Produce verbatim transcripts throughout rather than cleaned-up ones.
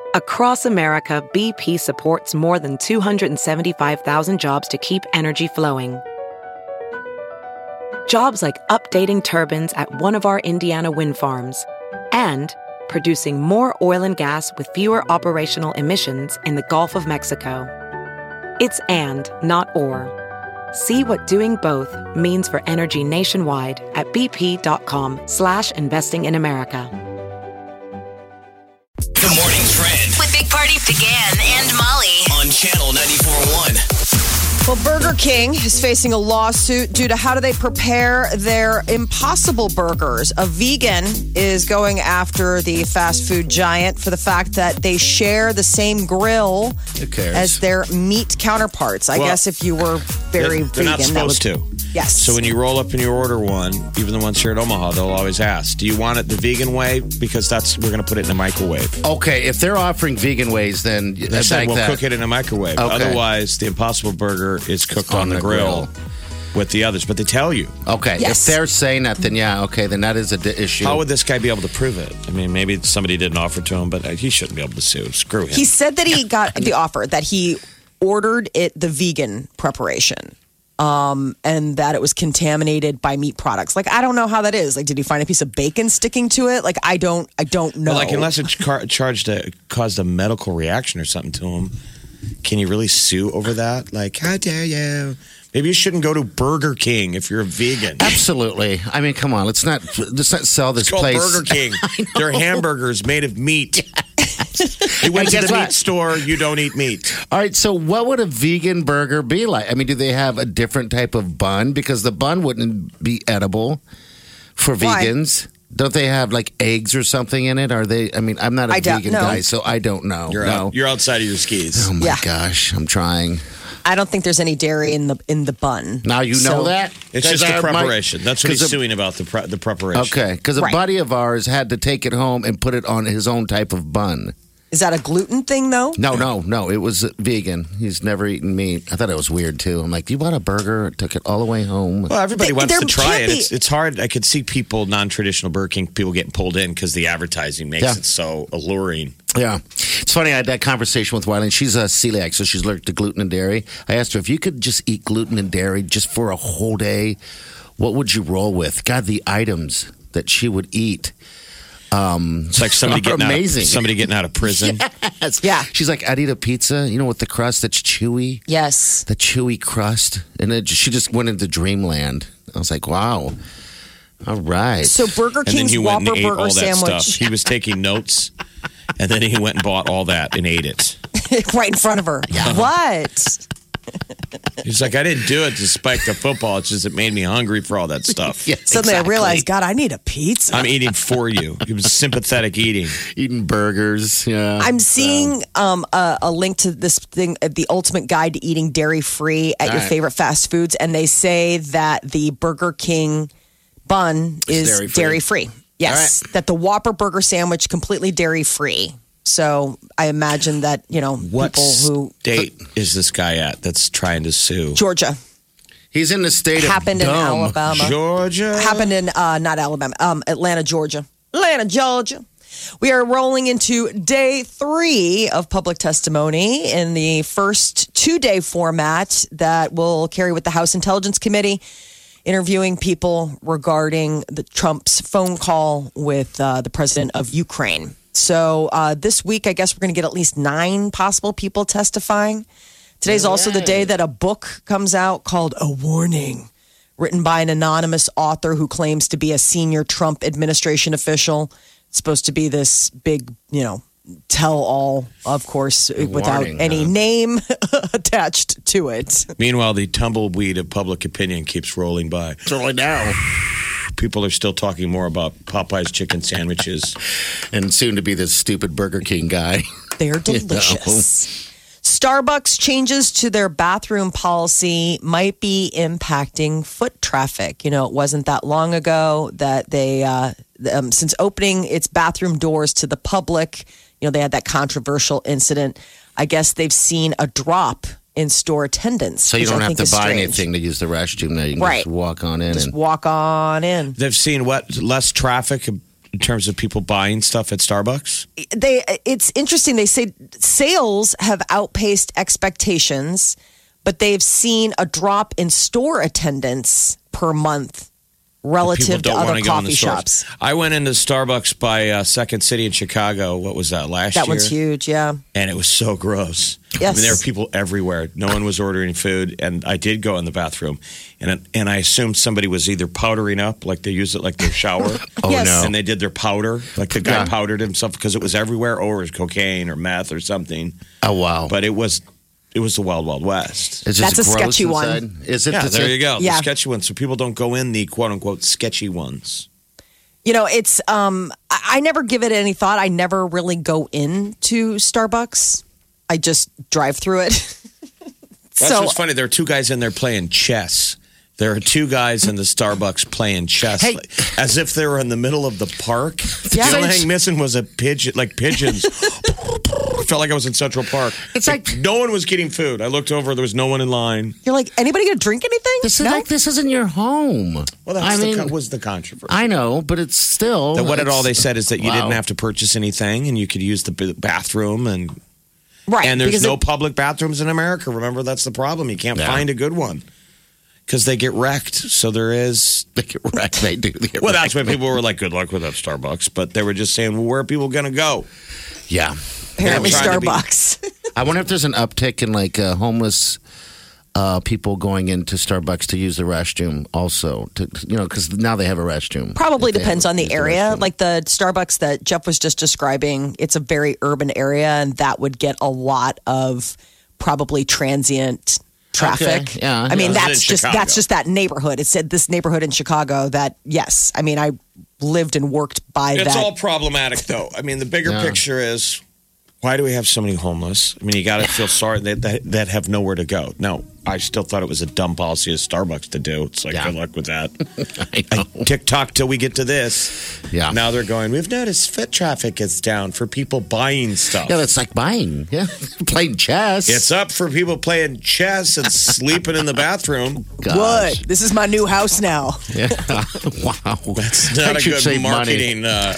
Across America, B P supports more than two hundred seventy-five thousand jobs to keep energy flowing. Jobs like updating turbines at one of our Indiana wind farms and producing more oil and gas with fewer operational emissions in the Gulf of Mexico. It's and, not or. See what doing both means for energy nationwide at bp.com slash investing in America. The Morning Trend with Big Party began and Molly on Channel ninety-four point one. Well, Burger King is facing a lawsuit due to how do they prepare their Impossible Burgers. A vegan is going after the fast food giant for the fact that they share the same grill Who cares? as their meat counterparts. I Well, guess if you were very They're, vegan, they're not supposed that would, to. Yes. So when you roll up and you order one, even the ones here at Omaha, they'll always ask, do you want it the vegan way? Because that's we're going to put it in the microwave. Okay, if they're offering vegan ways, then They that's said like we'll that. cook it in a microwave. Okay. Otherwise, the Impossible Burger is cooked on, on the, the grill, grill. with the others. But they tell you. Okay, Yes. if they're saying that, then yeah, okay, then that is a d- issue. How would this guy be able to prove it? I mean, maybe somebody didn't offer to him, but he shouldn't be able to sue. Screw him. He said that he got the offer, that he ordered it the vegan preparation. Um, and that it was contaminated by meat products. Like, I don't know how that is. Like, did he find a piece of bacon sticking to it? Like, I don't, I don't know. Well, like, unless it car- charged a, caused a medical reaction or something to him, can you really sue over that? Like, how dare you? Maybe you shouldn't go to Burger King if you're a vegan. Absolutely. I mean, come on, let's not let's not sell this It's called place. Burger King. They're hamburgers made of meat. You went And to guess the what? meat store, you don't eat meat. All right, so what would a vegan burger be like? I mean, do they have a different type of bun? Because the bun wouldn't be edible for Why? vegans. Don't they have like eggs or something in it? Are they? I mean, I'm not a I don't vegan know. guy, so I don't know. You're, no. out, you're outside of your skis. Oh my Yeah. gosh, I'm trying. I don't think there's any dairy in the in the bun. Now you know So- that It's 'Cause just the I- my- preparation. That's what he's 'cause a- suing about, the pre- the preparation. Okay, because a Right. buddy of ours had to take it home and put it on his own type of bun. Is that a gluten thing, though? No, no, no. It was vegan. He's never eaten meat. I thought it was weird too. I'm like, you bought a burger? Took it all the way home. Well, everybody Th- wants there to try can't it. be- It's, it's hard. I could see people, non-traditional Burger King, people getting pulled in because the advertising makes Yeah. it so alluring. Yeah, it's funny. I had that conversation with Wiley. She's a celiac, so she's allergic to gluten and dairy. I asked her if you could just eat gluten and dairy just for a whole day, what would you roll with? God, the items that she would eat. Um, It's like somebody are getting amazing. out of, somebody getting out of prison. Yes. Yeah. She's like, I'd eat a pizza, you know, with the crust that's chewy. Yes. The chewy crust, and it, she just went into dreamland. I was like, wow. All right. So Burger And then King's he went Whopper and ate Burger all that sandwich stuff. He was taking notes, and then he went and bought all that and ate it. right in front of her. What? He's like, I didn't do it to spike the football. It's just it made me hungry for all that stuff. Yeah, Suddenly exactly. I realized, God, I need a pizza. I'm eating for you. It was sympathetic eating. Eating burgers. Yeah. I'm seeing um, a, a link to this thing, uh, the ultimate guide to eating dairy free at All your right. favorite fast foods, and they say that the Burger King bun is dairy-free. dairy free. Yes, that the Whopper Burger sandwich completely dairy free. So I imagine that you know What people who state is this guy at that's trying to sue? Georgia He's in the state happened of in dumb. Alabama. Georgia. Happened in uh, not Alabama, um, Atlanta, Georgia. Atlanta, Georgia. We are rolling into day three of public testimony in the first two-day format that will carry with the House Intelligence Committee, interviewing people regarding the Trump's phone call with uh, the president of Ukraine. So uh, this week, I guess we're going to get at least nine possible people testifying. Today's also the day that a book comes out called A Warning, written by an anonymous author who claims to be a senior Trump administration official. It's supposed to be this big, you know, tell-all, of course, without warning, any huh? name attached to it. Meanwhile, the tumbleweed of public opinion keeps rolling by. Totally now. People are still talking more about Popeye's chicken sandwiches. And soon to be this stupid Burger King guy. They're You know. delicious. Starbucks changes to their bathroom policy might be impacting foot traffic. You know, it wasn't that long ago that they, uh, um, since opening its bathroom doors to the public, you know, they had that controversial incident. I guess they've seen a drop in store attendance. So you which don't I have think to is buy strange. anything to use the restroom now. You can Right. just walk on in. Just and walk on in. They've seen what? Less traffic in terms of people buying stuff at Starbucks? They it's interesting. They say sales have outpaced expectations, but they've seen a drop in store attendance per month relative to People don't other want to go in the coffee stores. shops. I went into Starbucks by uh, Second City in Chicago. What was that, last That year? one's huge, yeah. And it was so gross. Yes. I mean, there were people everywhere. No one was ordering food. And I did go in the bathroom. And and I assumed somebody was either powdering up, like they use it like their shower. Oh, Yes. no. And they did their powder. Like the guy Yeah. powdered himself because it was everywhere. Or it was cocaine or meth or something. Oh, wow. But it was it was the Wild Wild West. It's That's just a gross sketchy one. inside. Is it? Yeah, Is there it- you go. Yeah. The sketchy ones. So people don't go in the quote unquote sketchy ones. You know, it's um I, I never give it any thought. I never really go into Starbucks. I just drive through it. That's so what's funny. There are two guys in there playing chess. There are two guys in the Starbucks playing chess, Hey. like, as if they were in the middle of the park. Yeah. The only thing missing was a pigeon, like pigeons. Felt like I was in Central Park. It's like- no one was getting food. I looked over; there was no one in line. you're like, anybody gonna drink anything? This is No? like this isn't your home. Well, that's I the, mean, co- was the controversy. I know, but it's still. That what it it's- all they said is that you Wow. didn't have to purchase anything, and you could use the b- bathroom, and right. and there's because no it- public bathrooms in America. Remember, that's the problem. You can't Yeah. find a good one because they get wrecked. So there is. They get wrecked. They do. They get Well, that's why wrecked. people were like, "Good luck with that Starbucks," but they were just saying, "Well, where are people going to go?" Yeah. apparently trying to be- Starbucks. I wonder if there's an uptick in like uh, homeless uh, people going into Starbucks to use the restroom also. To, you know, because now they have a restroom. Probably If they depends haven't on the used area. restroom. Like the Starbucks that Jeff was just describing, it's a very urban area, and that would get a lot of probably transient traffic. Okay, yeah, I mean, yeah. that's In just Chicago. that's just that neighborhood. It said this neighborhood in Chicago that yes, I mean, I lived and worked by It's that. all problematic, though. I mean, the bigger Yeah. picture is why do we have so many homeless? I mean, you got to feel sorry that, that that have nowhere to go. No, I still thought it was a dumb policy of Starbucks to do. It's like, Yeah. good luck with that. I know. TikTok till we get to this. Yeah. Now they're going, we've noticed foot traffic is down for people buying stuff. Yeah, that's like buying. Yeah, playing chess. It's up for people playing chess and sleeping in the bathroom. Gosh. What? This is my new house now. Yeah. Wow. It's not I a should good save money. marketing. Uh,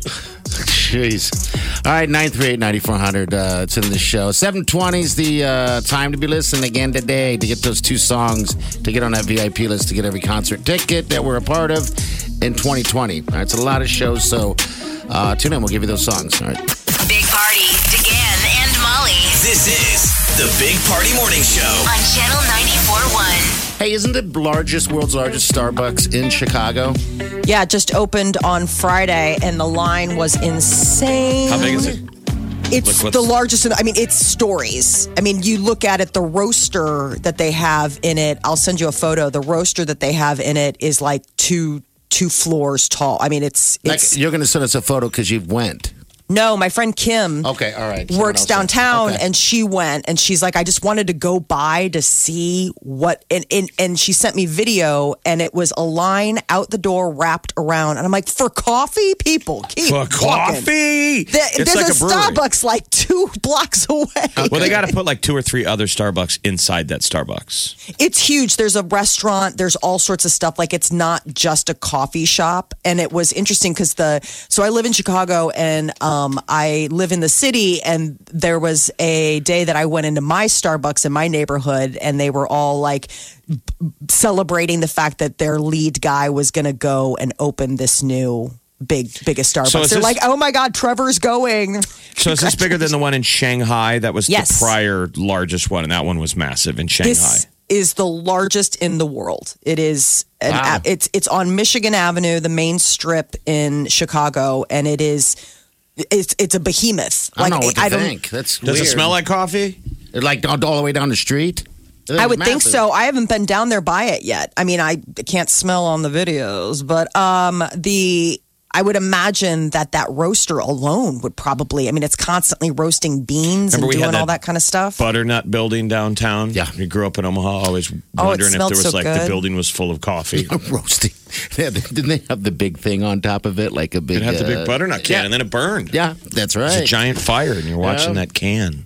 Jeez. All right, nine three eight, nine four hundred. Uh, it's in the show. seven twenty is the uh, time to be listening again today to get those two songs, to get on that V I P list, to get every concert ticket that we're a part of in twenty twenty. All right, it's a lot of shows, so uh, tune in. We'll give you those songs. All right. Big Party, DeGan and Molly This is the Big Party Morning Show. on Channel ninety-four point one. Hey, isn't the largest, world's largest Starbucks in Chicago? Yeah, it just opened on Friday, and the line was insane. how big is it? It's Like, the what's- largest. In, I mean, it's stories. I mean, you look at it, the roaster that they have in it. I'll send you a photo. The roaster that they have in it is like two two floors tall. I mean, it's Like, it's you're going to send us a photo because you went. no. My friend Kim Okay, all right. Someone works else went. downtown, Okay. and she went, and she's like, I just wanted to go by to see what, and and, and she sent me video, and it was a line out the door wrapped around, and I'm like, for coffee, people keep For walking. coffee. There- It's there's like a, a brewery. Starbucks like two blocks away. Well, they got to put like two or three other Starbucks inside that Starbucks. It's huge. There's a restaurant. There's all sorts of stuff. Like it's not just a coffee shop. And it was interesting because the so I live in Chicago and um, I live in the city. And there was a day that I went into my Starbucks in my neighborhood, and they were all like b- celebrating the fact that their lead guy was going to go and open this new big biggest Starbucks. So is They're this- like, oh my God, Trevor's going. So is this bigger than the one in Shanghai? That was Yes. the prior largest one, and that one was massive in Shanghai. This is the largest in the world. It is an Wow. a- it's it's on Michigan Avenue, the main strip in Chicago, and it is it's it's a behemoth. I don't know what to think. That's Does weird. it smell like coffee? Like all, all the way down the street? I would think Massive. so. I haven't been down there by it yet. I mean, I can't smell on the videos, but um, the I would imagine that that roaster alone would probably. I mean, it's constantly roasting beans Remember we and had doing all that that kind of stuff. Butternut building downtown. Yeah. You grew up in Omaha, always Oh, it wondering if smelled there was so like the good. building was full of coffee. Roasting. Yeah, didn't they have the big thing on top of it? Like a big. It had the uh, big butternut can, yeah. and then it burned. Yeah, that's It was a right. giant fire, and you're watching Yeah. that can.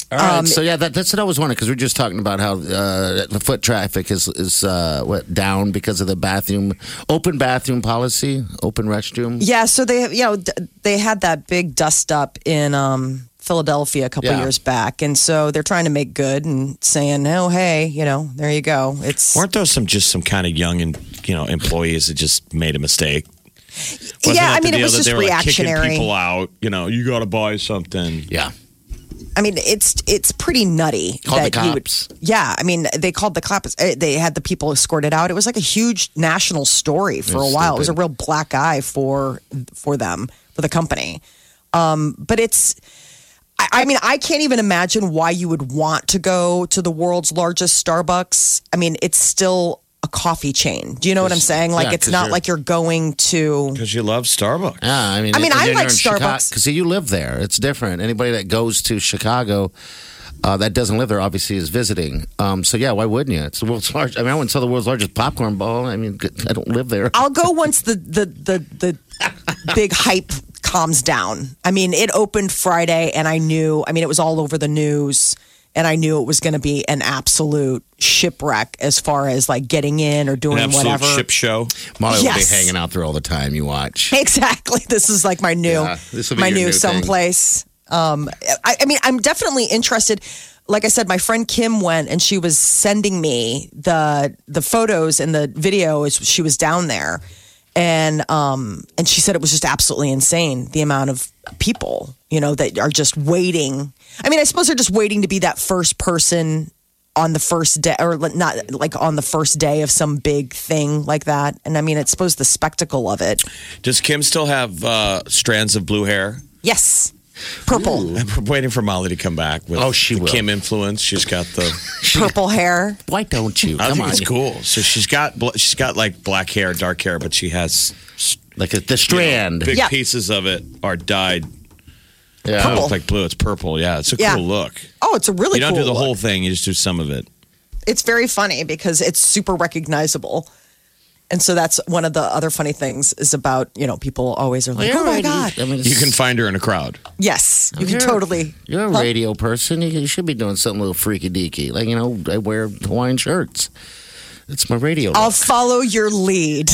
All right. so yeah, that, that's what I was wondering because we were just talking about how uh, the foot traffic is is uh, what down because of the bathroom open bathroom policy, open restroom. Yeah, so they you know d- they had that big dust up in um, Philadelphia a couple Yeah. years back, and so they're trying to make good and saying, "Oh, hey, you know, there you go." It's Weren't those some just some kind of young and you know employees that just made a mistake? Wasn't yeah, that I the mean, it deal was that just they were, like, kicking reactionary. people out. You know, you got to buy something. Yeah. I mean, it's it's pretty nutty. Called the that you would- cops. yeah, I mean, they called the cops. Uh, They had the people escorted out. It was like a huge national story for a It's while. It was a stupid. real black eye for for them, for the company. Um, but it's, I, I mean, I can't even imagine why you would want to go to the world's largest Starbucks. I mean, it's still a coffee chain. Do you know what I'm saying? Like, yeah, it's 'cause not you're- like you're going to. Because you love Starbucks. Yeah, I mean, I mean, and I then like you're in Chicago- Starbucks. because you live there. It's different. Anybody that goes to Chicago uh, that doesn't live there obviously is visiting. Um, so yeah, why wouldn't you? It's the world's largest. I mean, I went and saw the world's largest popcorn bowl. I mean, I don't live there. I'll go once the the the the big hype calms down. I mean, it opened Friday, and I knew. I mean, it was all over the news, and I knew it was going to be an absolute shipwreck as far as like getting in or doing An absolute whatever. ship show. Molly will be Yes. hanging out there all the time. You watch. Exactly. This is like my new, Yeah, this will be my your new new thing. someplace. Um, I, I mean, I'm definitely interested. Like I said, my friend Kim went and she was sending me the the photos and the video as she was down there, and um, and she said it was just absolutely insane the amount of people, you know, that are just waiting. I mean, I suppose they're just waiting to be that first person on the first day, or not like on the first day of some big thing like that. And I mean, I suppose the spectacle of it. Does Kim still have uh, strands of blue hair? Yes. Purple. I'm waiting for Molly to come back with Oh, she the will. Kim influence. She's got the. Purple hair. Why don't you? I Come think on. it's cool. So she's got bl- she's got like black hair, dark hair, but she has Like a, the you know, strand. big Yeah. pieces of it are dyed. yeah. It Purple. looks like blue. It's purple. Yeah, it's a Yeah. cool look. Oh, it's a really You don't cool do the look. whole thing. You just do some of it. It's very funny because it's super recognizable. And so that's one of the other funny things is about, you know, people always are like, You're oh my already- God. I mean, You can it's- find her in a crowd. Yes, you can You're- totally. You're a Huh? radio person. You, you should be doing something a little freaky deaky. Like, you know, I wear Hawaiian shirts. It's my radio. I'll look. follow your lead.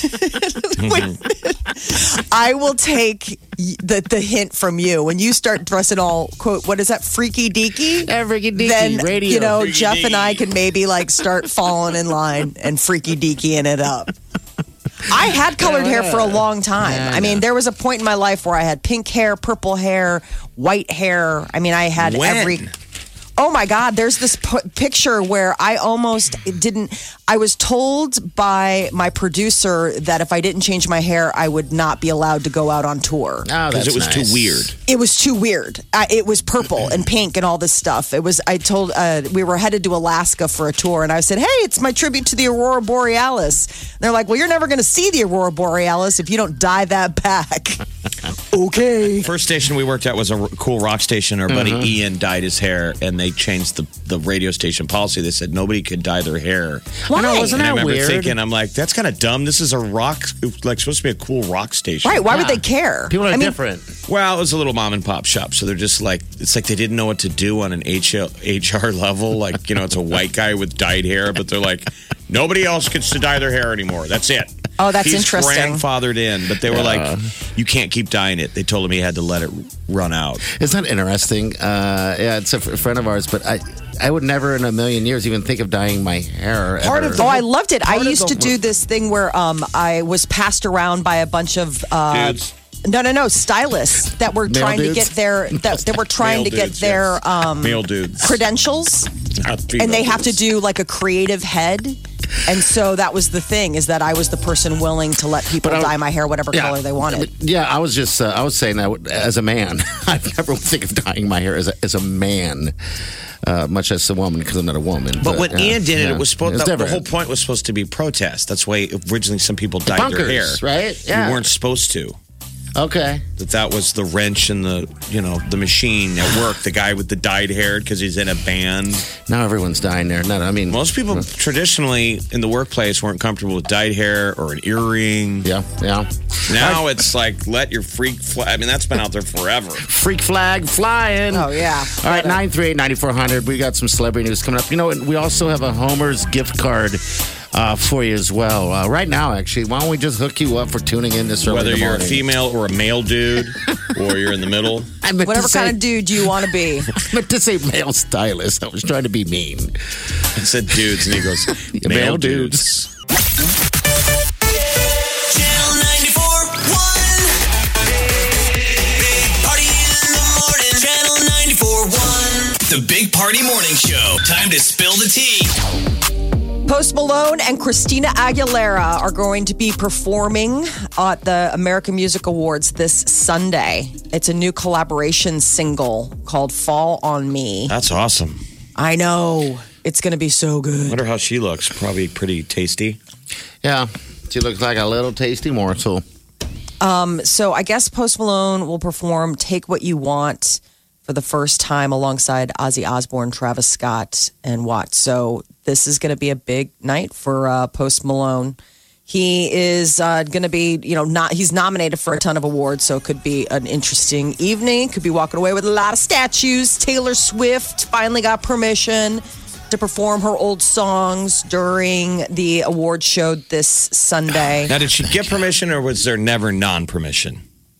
I will take the, the hint from you. When you start dressing all, quote, what is that, freaky deaky? Yeah, freaky deaky, Then, radio. you know, Freaky Jeff and I deaky. can maybe like start falling in line and freaky deakying it up. I had colored hair for a long time. Yeah, I mean, yeah. there was a point in my life where I had pink hair, purple hair, white hair. I mean, I had When? every. Oh my God, there's this p- picture where I almost didn't. I was told by my producer that if I didn't change my hair, I would not be allowed to go out on tour. Oh, Because that's it was nice. too weird. It was too weird. I, it was purple and pink and all this stuff. It was. I told uh, we were headed to Alaska for a tour, and I said, "Hey, it's my tribute to the Aurora Borealis." And they're like, "Well, you're never going to see the Aurora Borealis if you don't dye that back." Okay. First station we worked at was a r- cool rock station. Our buddy Ian dyed his hair, and they changed the, the radio station policy. They said nobody could dye their hair. I know, wasn't And I that remember weird? thinking, I'm like, that's kind of dumb. This is a rock, like supposed to be a cool rock station. Right? Why would Yeah. they care? People are I mean, different. Well, it was a little mom and pop shop, so they're just like, it's like they didn't know what to do on an H R level. Like, you know, it's a white guy with dyed hair, but they're like, nobody else gets to dye their hair anymore. That's it. Oh, that's He's interesting. grandfathered in, but they were like, you can't keep dyeing it. They told him he had to let it run out. Isn't that interesting? Uh, yeah, it's a, f- a friend of ours, but I, I would never in a million years even think of dyeing my hair. Part ever. of the- Oh, I loved it. I Part of used the- to do this thing where um, I was passed around by a bunch of uh, Dudes. no, no, no, stylists that were Male trying to dudes? get their that, that were trying Male to get dudes, their yes. um, Male dudes. credentials, Not female and they have to dudes. do like a creative head. And so that was the thing, is that I was the person willing to let people But I- dye my hair whatever Yeah. color they wanted. Yeah, I was just, uh, I was saying that as a man, I never would think of dyeing my hair as a, as a man, uh, much as a woman because I'm not a woman. But when uh, Ian did it, yeah, it was supposed. it's the, the different. whole point was supposed to be protest. That's why originally some people dyed Bunkers, their hair. right? Yeah. You weren't supposed to. Okay. That that was the wrench in the, you know, the machine at work. The guy with the dyed hair because he's in a band. Now everyone's dying there. No, I mean, Most people traditionally in the workplace weren't comfortable with dyed hair or an earring. yeah, yeah. Now it's like, let your freak fly. I mean, that's been out there forever. Freak flag flying. Oh, yeah. All right, nine three eight, nine four hundred. We got some celebrity news coming up. You know, we also have a Homer's gift card uh, for you as well. Uh, right now, actually, why don't we just hook you up for tuning in this early in Whether the you're a morning? female or a male dude, or you're in the middle. I meant Whatever to say, kind of dude you want to be. I meant to say male stylist. I was trying to be mean. I said dudes, and he goes, male, Male dudes. dudes. Channel ninety-four one. Big Party in the morning. Channel ninety-four one. The Big Party Morning Show. Time to spill the tea. Post Malone and Christina Aguilera are going to be performing at the American Music Awards this Sunday. It's a new collaboration single called Fall on Me. That's awesome. I know. It's going to be so I good. wonder how she looks. Probably pretty tasty. Yeah, she looks like a little tasty morsel. So I guess Post Malone will perform Take What You Want for the first time alongside Ozzy Osbourne, Travis Scott, and Watt. So this is going to be a big night for uh, Post Malone. He is uh, going to be, you know, not he's nominated for a ton of awards, so it could be an interesting evening. Could be walking away with a lot of statues. Taylor Swift finally got permission to perform her old songs during the award show this Sunday. Now, did she get permission, or was there never non-permission?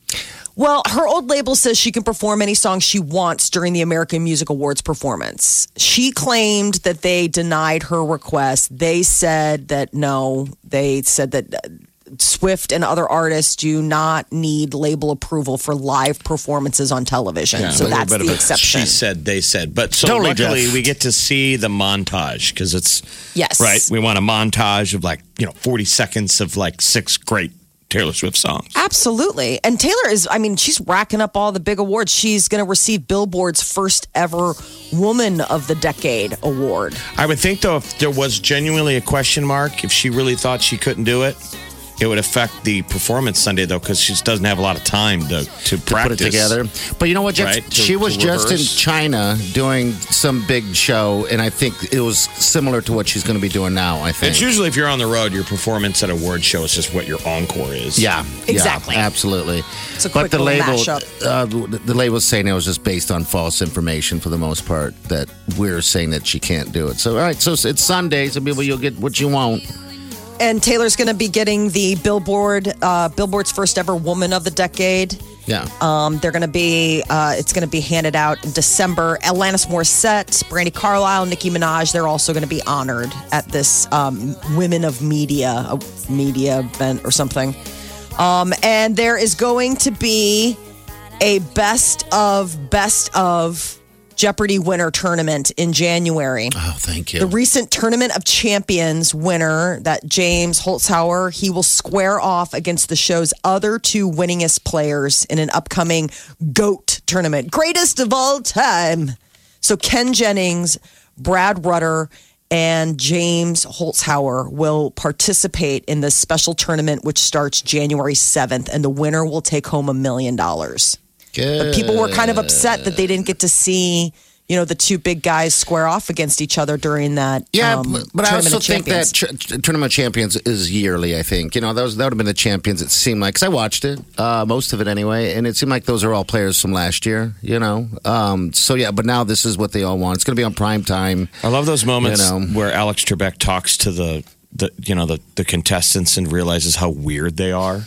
Well, her old label says she can perform any song she wants during the American Music Awards performance. She claimed that they denied her request. They said that no, they said that uh, Swift and other artists do not need label approval for live performances on television. Yeah, so a little that's bit of the a exception. She said, they said. But so Totally, luckily, Jeff. we get to see the montage because it's, Yes. right? We want a montage of like, you know, forty seconds of like six great Taylor Swift songs. Absolutely. And Taylor is, I mean, she's racking up all the big awards. She's going to receive Billboard's first ever Woman of the Decade award. I would think, though, if there was genuinely a question mark, if she really thought she couldn't do it, it would affect the performance Sunday, though, because she doesn't have a lot of time to, to practice. Put it together. But you know what, Jeff? Right, to- she was to just in rehearse. China doing some big show, and I think it was similar to what she's going to be doing now, I think. It's usually, if you're on the road, your performance at a award show is just what your encore is. Yeah, Exactly. Yeah, absolutely. It's a but quick the little label, mashup. uh, the, the label was saying it was just based on false information for the most part. That we're saying that she can't do it. So all right, so it's Sunday, so people you'll get what you want. And Taylor's going to be getting the Billboard, uh, Billboard's first ever Woman of the Decade. Yeah. Um, they're going to be, uh, it's going to be handed out in December. Alanis Morissette, Brandy Carlisle, Nicki Minaj, they're also going to be honored at this um, Women of Media, a media event or something. Um, and there is going to be a best of, best of Jeopardy winner tournament in January. Oh, thank you. The recent Tournament of Champions winner, that James Holzhauer, he will square off against the show's other two winningest players in an upcoming GOAT tournament. Greatest of all time. So Ken Jennings, Brad Rutter, and James Holzhauer will participate in this special tournament, which starts January seventh, and the winner will take home a million dollars. But people were kind of upset that they didn't get to see, you know, the two big guys square off against each other during that. Yeah, um, but, but I Tournament also of think that Champions. tr- Tournament of Champions is yearly, I think. You know, that, was, that would have been the champions, it seemed like. Because I watched it, uh, most of it anyway, and it seemed like those are all players from last year, you know. Um, so, yeah, but now this is what they all want. It's going to be on prime time. I love those moments You know. where Alex Trebek talks to the, the you know, the, the contestants and realizes how weird they are.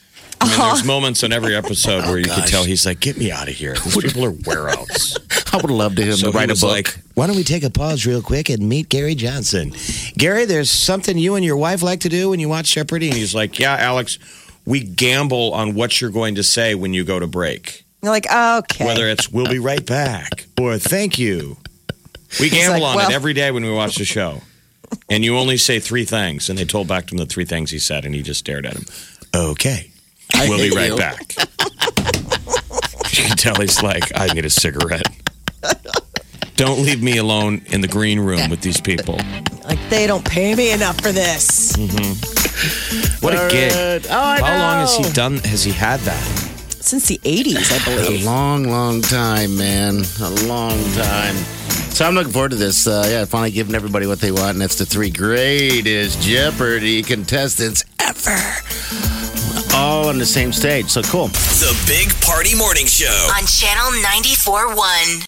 I mean, there's moments in every episode where you can gosh. tell he's like, "Get me out of here! These people are wereouts." I would love to him So to he write a was book. like, "Why don't we take a pause real quick and meet Gary Johnson?" Gary, there's something you and your wife like to do when you watch Jeopardy, and he's like, "Yeah, Alex, we gamble on what you're going to say when you go to break. You're like, okay. Whether it's we'll be right back or thank you, we gamble like, on well- it every day when we watch the show." And you only say three things, and they told back to him the three things he said, and he just stared at him. Okay. We'll be hate right you. back. You can tell he's like, I need a cigarette. Don't leave me alone in the green room with these people. Like, they don't pay me enough for this. What a gig. Oh, I How long has he know. done, has he had that? since the eighties, I A believe. long, long time, man. A long time. So I'm looking forward to this. Uh, yeah, finally giving everybody what they want, and that's the three greatest Jeopardy contestants ever. All on the same stage. So cool. The Big Party Morning Show. On Channel ninety-four point one.